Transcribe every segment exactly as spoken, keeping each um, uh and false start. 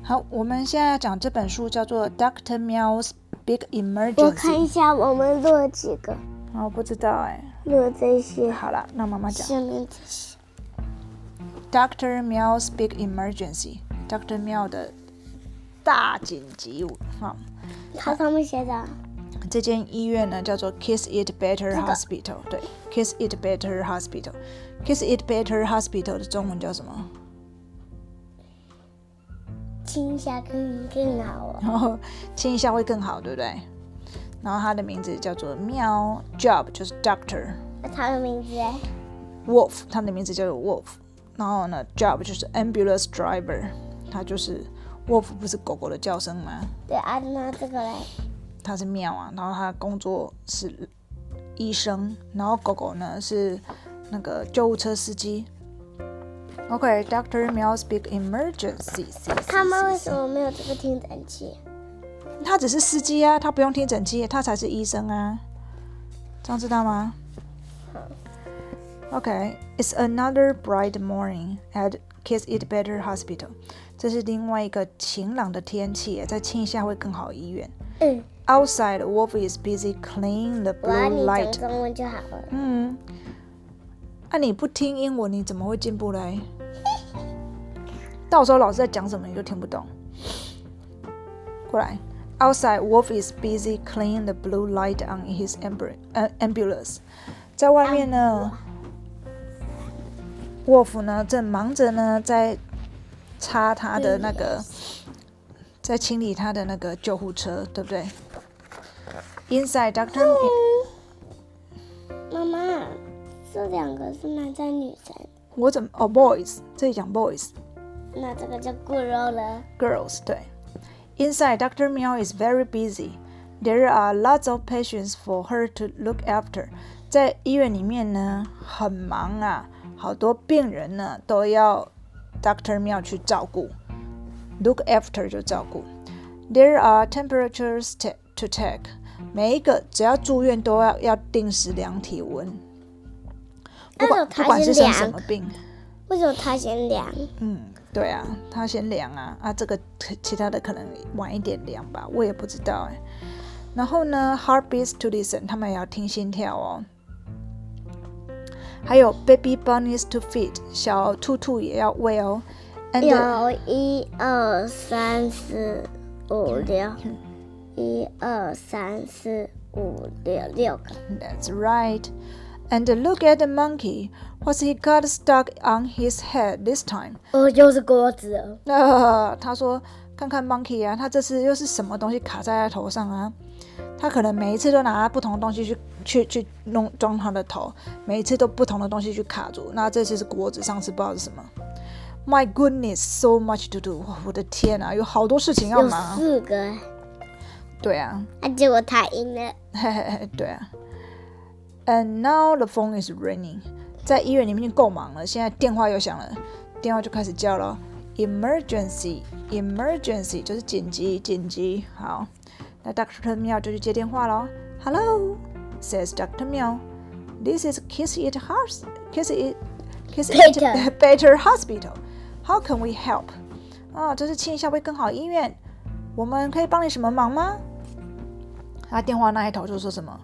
好，我们现在讲这本书叫做 Doctor Meow's Big Emergency。 我看一下我们录了几个。 我不知道哎、 欸。录了这些。 好了，那妈妈讲。 下面这些。 Doctor Meow's Big Emergency。Doctor Meow 的大紧急哈。 它上面写的。 这间医院呢叫做 Kiss It Better Hospital，、这个、对 ，Kiss It Better Hospital。Kiss It Better Hospital 的中文叫什么？ 亲一下更更好哦。 然后亲一下会更好，对不对？然后它的名字叫做喵 ，Job 就是 Doctor。 那它的名字哎 ？Wolf， 它的名字叫做 Wolf。然后呢 ，Job 就是 Ambulance Driver， 它就是 Wolf， 不是狗狗的叫声吗？ 对啊，那这个嘞？ 它是喵啊，然后它的工作是医生，然后狗狗呢是那个救护车司机。OK，Doctor Meow's Big Emergency。 他们为什么没有这个听诊器？ 他只是司机啊，他不用听诊器，他才是医生啊，这样知道吗？ 好。 OK，It's another bright morning at Kiss It Better Hospital。这是另外一个晴朗的天气，再亲一下会更好医院。 嗯。 Outside, Wolf is busy cleaning the blue light. 我你讲中文就好了。 嗯。啊，你不听英文，你怎么会进步嘞？到时候老师在讲什么你就听不懂。过来 ，Outside, Wolf is busy cleaning the blue light on his ambulance. 在外面呢，沃夫呢正忙着呢在擦他的那个，在清理他的那个救护车，对不对 ？Inside, Doctor 妈妈，这两个是男生女生？ 我怎么哦 ，boys， 这里讲 boys。 那这个叫 girl 了。 Girls， 对。Inside, Doctor Meow is very busy. There are lots of patients for her to look after. 在医院里面呢，很忙啊，好多病人呢都要 Doctor Meow 去照顾。Look after 就照顾。There are temperatures to take. 每一个只要住院都要要定时量体温。不管不管是生什么病。 为什么他先量？ 嗯。对啊，他先量啊，啊，这个其他的可能晚一点量吧，我也不知道哎。然后呢 ，heartbeats to listen， 他们也要听心跳哦。还有 baby bunnies to feed， 小兔兔也要喂哦。 有一二三四五六，一二三四五六六个。 That's right。And look at the monkey. What's he got stuck on his head this time? 哦，又是锅子。 呃，他说，看看 monkey 啊，他这次又是什么东西卡在他头上啊？他可能每一次都拿不同的东西去去去弄装他的头，每一次都不同的东西去卡住。那这次是锅子，上次不知道是什么。My goodness, so much to do. 我的天啊，有好多事情要忙。 有四个。 对啊。 啊，结果他赢了。 嘿嘿嘿，对啊。And now the phone is ringing. 在医院里面已经够忙了，现在电话又响了，电话就开始叫了。Emergency, emergency 就是紧急，紧急。好，那 Doctor Meow 就去接电话咯。Hello, says Doctor Meow. This is Kiss It House, Kiss It, Kiss It Better Hospital. How can we help? 啊，这是亲一下会更好医院，我们可以帮你什么忙吗？他电话那一头就说什么？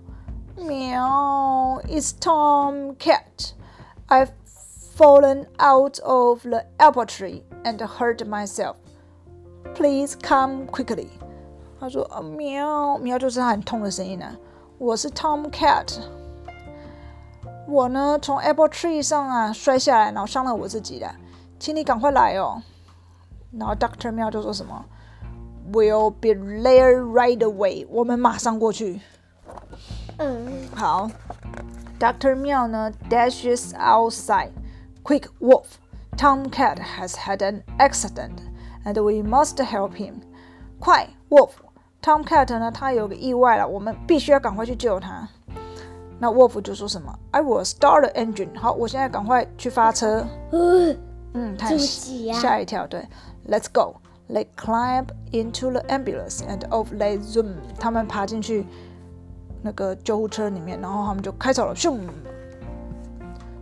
Meow, it's Tom Cat. I've fallen out of the apple tree and hurt myself. Please come quickly. 他说啊，喵喵就是他很痛的声音啊。我是 Tom Cat， 我呢从 apple tree 上啊摔下来，然后伤了我自己的，请你赶快来哦。然后 Doctor 喵就说什么 ？We'll be there right away. 我们马上过去。 嗯， 好 ，Doctor Meow 呢 dashes outside. Quick, Wolf! Tom Cat has had an accident, and we must help him. 快 ，Wolf! Tom Cat 呢，他有个意外了，我们必须要赶快去救他。那 Wolf 就说什么 ？I will start the engine. 好，我现在赶快去发车。嗯，他吓一跳，对 ，Let's go. They climb into the ambulance and off they zoom. 他们爬进去。那个救护车里面，然后他们就开走了，咻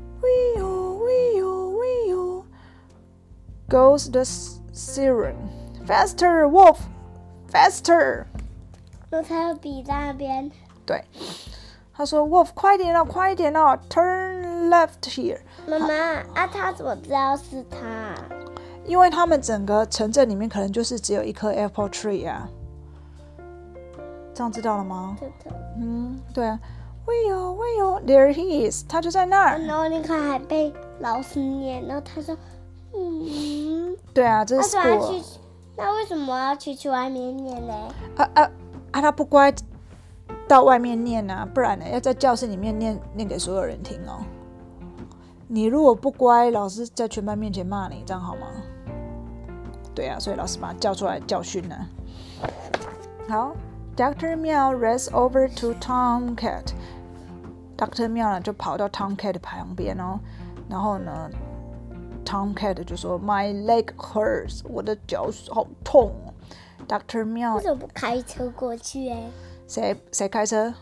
！Wee-oh, wee-oh, wee-oh, goes the siren. ，faster Wolf faster。 那他要比在那边。 对，他说 Wolf 快点哦，快点哦 ，turn left here。 妈妈啊，他怎么知道是他？ 因为他们整个城镇里面可能就是只有一棵 apple tree 啊，这样知道了吗？ 对的。 嗯，对啊。Will Will there he is， 他就在那儿。 然后你看还被老师念，然后他说，嗯， 对啊，这是 school。 去，那为什么要去去外面念呢？ 啊啊啊！他不乖，到外面念啊，不然呢要在教室里面念念给所有人听哦。你如果不乖，老师在全班面前骂你，这样好吗？对啊，所以老师把他叫出来教训了。好 ，Doctor Meow race over to Tomcat。Doctor Meow 呢就跑到 Tomcat 的旁边哦，然后呢 ，Tomcat 就说 My leg hurts， 我的脚好痛哦。Doctor Meow 为什么不开车过去哎？ 谁谁开车？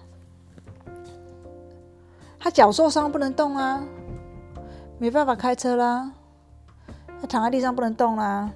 他脚受伤不能动啊，没办法开车啦。他躺在地上不能动啦。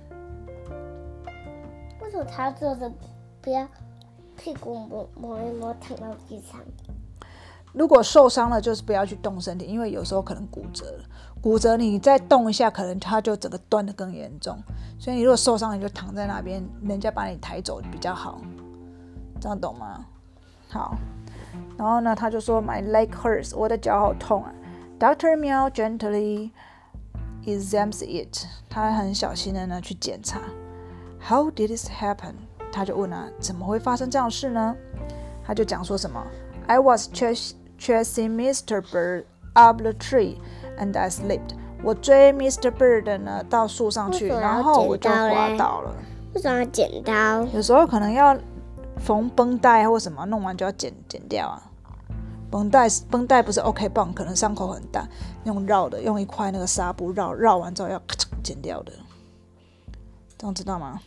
为什么他坐着不要屁股磨磨一磨躺到地上？ 如果受伤了，就是不要去动身体，因为有时候可能骨折了。骨折你再动一下，可能它就整个断得更严重。所以你如果受伤了，你就躺在那边，人家把你抬走比较好。这样懂吗？好。然后呢，他就说 My leg hurts， 我的脚好痛啊。Doctor Meow gently examines it， 他很小心的呢去检查。How did this happen？ 他就问啊，怎么会发生这样的事呢？他就讲说什么 I was chasing Mister Bird up the tree and I slipped。我追 Mister Bird 呢到树上去，然后我就滑倒了。 为什么要剪刀？ 有时候可能要缝绷带或什么，弄完就要剪剪掉啊。绷带绷带不是 OK 棒，可能伤口很大，用绕的，用一块那个纱布绕绕完之后要咔嚓剪掉的，这样知道吗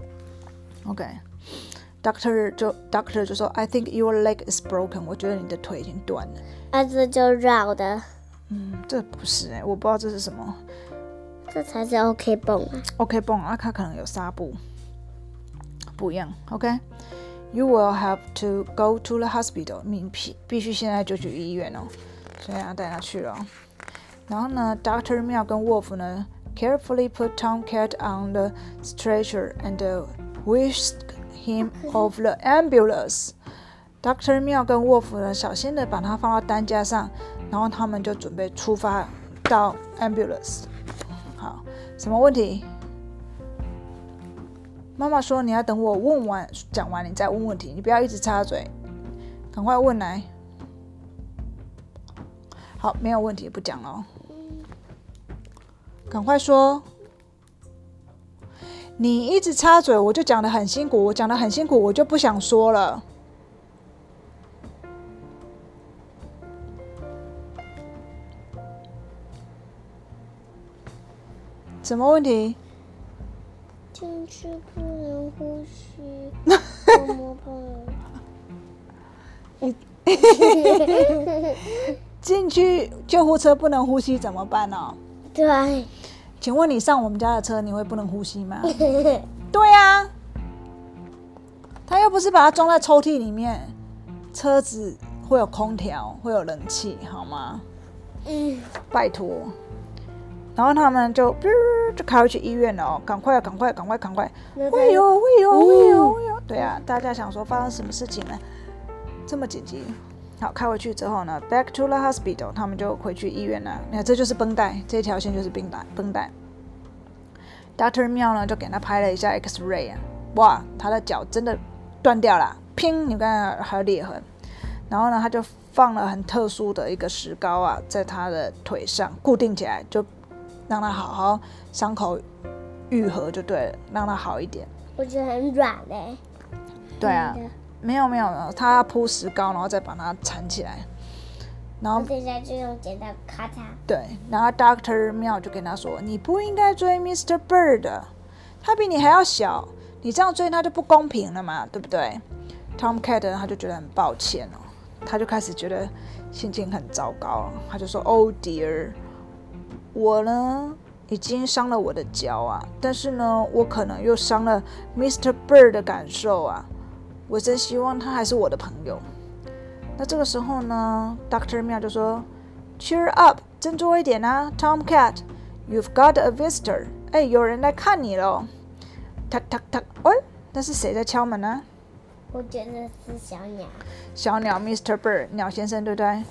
？OK，Doctor 就 Doctor 就说 I think your leg is broken， 我觉得你的腿已经断了。 啊，这就绕的。 嗯，这不是哎、欸，我不知道这是什么。 这才是 OK 绷啊。 OK 绷啊，它可能有纱布，不一样。OK。You will have to go to the hospital， 你必必须现在就去医院哦，所以要带他去了、哦。然后呢 ，Doctor Meow 跟 Wolf 呢 ，carefully put Tomcat on the stretcher and whisked him off the ambulance。Doctor Meow 跟 Wolf 呢，小心的把他放到担架上，然后他们就准备出发到 ambulance。好，什么问题？妈妈说：“你要等我问完讲完，你再问问题，你不要一直插嘴，赶快问来。”好，没有问题，不讲了。赶快说。你一直插嘴，我就讲得很辛苦，我讲得很辛苦，我就不想说了。什么问题？ 进去不能呼吸，我摸碰。 进去救护车不能呼吸怎么办呢、哦？ 对。 请问你上我们家的车，你会不能呼吸吗？对啊，他又不是把它装在抽屉里面，车子会有空调，会有冷气，好吗？ 嗯， 拜托。然后他们就就开回去医院了哦，赶快赶快赶快赶快！会有会有会有会有，对啊，大家想说发生什么事情呢？这么紧急。好，开回去之后呢 ，back to the hospital， 他们就回去医院了。你看，这就是绷带，这条线就是绷带。绷带。Doctor Meow 呢就给他拍了一下 X-ray 啊，哇，他的脚真的断掉了，拼，你看还有裂痕。然后呢，他就放了很特殊的一个石膏啊，在他的腿上固定起来，就让他好好伤口愈合就对了，让他好一点。 我觉得很软嘞、欸。 对啊。没有没有没有，他要铺石膏，然后再把它缠起来，然后等一下就用剪刀咔嚓。对， 然后 Doctor Meow 就跟他说：“你不应该追 Mister Bird， 他比你还要小，你这样追他就不公平了嘛，对不对 ？”Tomcat 他就觉得很抱歉哦，他就开始觉得心情很糟糕，他就说 ：“Oh dear， 我呢已经伤了我的脚啊，但是呢，我可能又伤了 Mister Bird 的感受啊。我真希望他还是我的朋友。那这个时候呢 ，Doctor Meow 就说 ：“Cheer up， 振作一点啊 ，Tomcat， You've got a visitor。哎，有人来看你了。”“Tuck tuck tuck， 哎，那是谁在敲门呢？” 我觉得是小鸟。 小鸟 Mister Bird， 鸟先生对不对？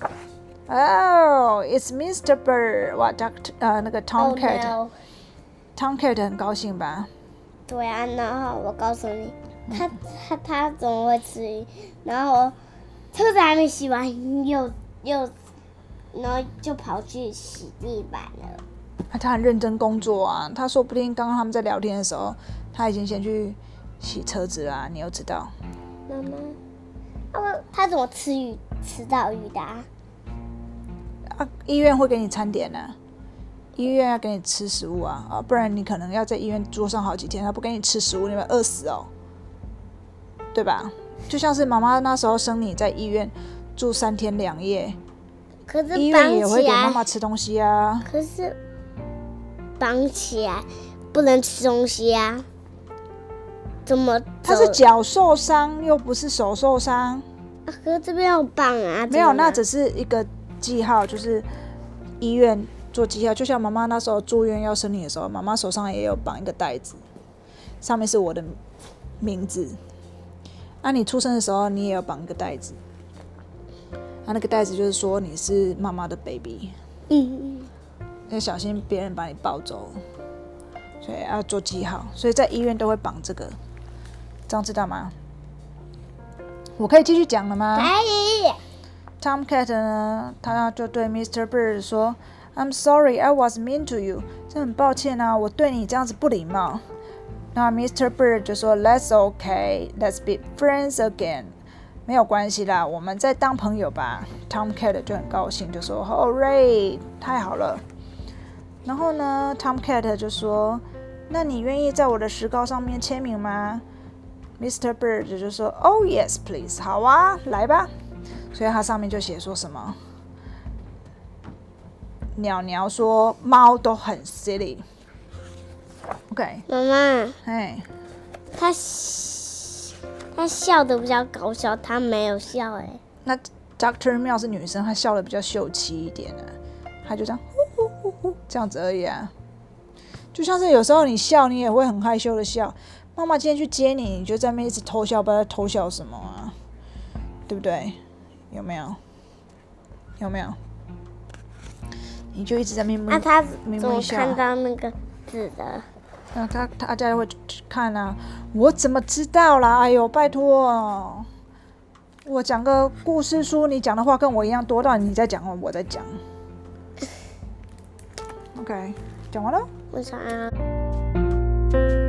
Oh, it's Mister Bird！ 哇 ，Doctor 呃那个 Tomcat，Tomcat、oh, no. 很高兴吧？ 对啊，然后我告诉你，他他他怎么会吃鱼？然后车子还没洗完，又又然后就跑去洗地板了。 啊，他很认真工作啊，他说不定刚刚他们在聊天的时候，他已经先去洗车子啦、啊，你又知道？ 妈妈，他他怎么吃鱼吃到鱼的、啊？ 啊，医院会给你餐点呢、啊，医院要给你吃食物啊，啊，不然你可能要在医院坐上好几天，他不给你吃食物，你会饿死哦，对吧？就像是妈妈那时候生你在医院住三天两夜， 可是医院也会给妈妈吃东西啊。 可是绑起来不能吃东西啊，怎么？ 他是脚受伤，又不是手受伤。 啊、可是这边有绑啊。 没有，那只是一个记号，就是医院做记号。就像妈妈那时候住院要生你的时候，妈妈手上也有绑一个袋子，上面是我的名字。啊，你出生的时候你也有绑一个袋子，啊，那个袋子就是说你是妈妈的 baby， 嗯， 要小心别人把你抱走，所以要做记号，所以在医院都会绑这个，这样知道吗？我可以继续讲了吗？ 可以。 Tomcat 呢，他就对 Mister Bird 说 ：“I'm sorry, I was mean to you。真很抱歉啊，我对你这样子不礼貌。”那 Mister Bird 就说 ：“That's okay, let's be friends again。没有关系啦，我们再当朋友吧。” Tomcat 就很高兴，就说 ：“Hooray，太好了。”然后呢 ，Tomcat 就说：“那你愿意在我的石膏上面签名吗 ？”Mister Bird 就说 ：“Oh yes, please。好啊，来吧。”所以它上面就写说什么？鸟鸟说猫都很 silly。OK， 妈妈， 哎， 他他笑的比较搞笑，他没有笑哎。 那 Doctor Meow 是女生，她笑的比较秀气一点啊，她就这样呼呼呼呼这样子而已啊。就像是有时候你笑，你也会很害羞的笑。妈妈今天去接你，你就在那边一直偷笑，不知道在偷笑什么啊，对不对？有没有？有没有？你就一直在那边那、啊、他咪怎么咪笑。 看到那个字的？ 那他大家会看啊，我怎么知道啦？哎呦，拜托，我讲个故事书，你讲的话跟我一样多，到底你在讲，我在讲。OK， 讲完了。 为啥啊？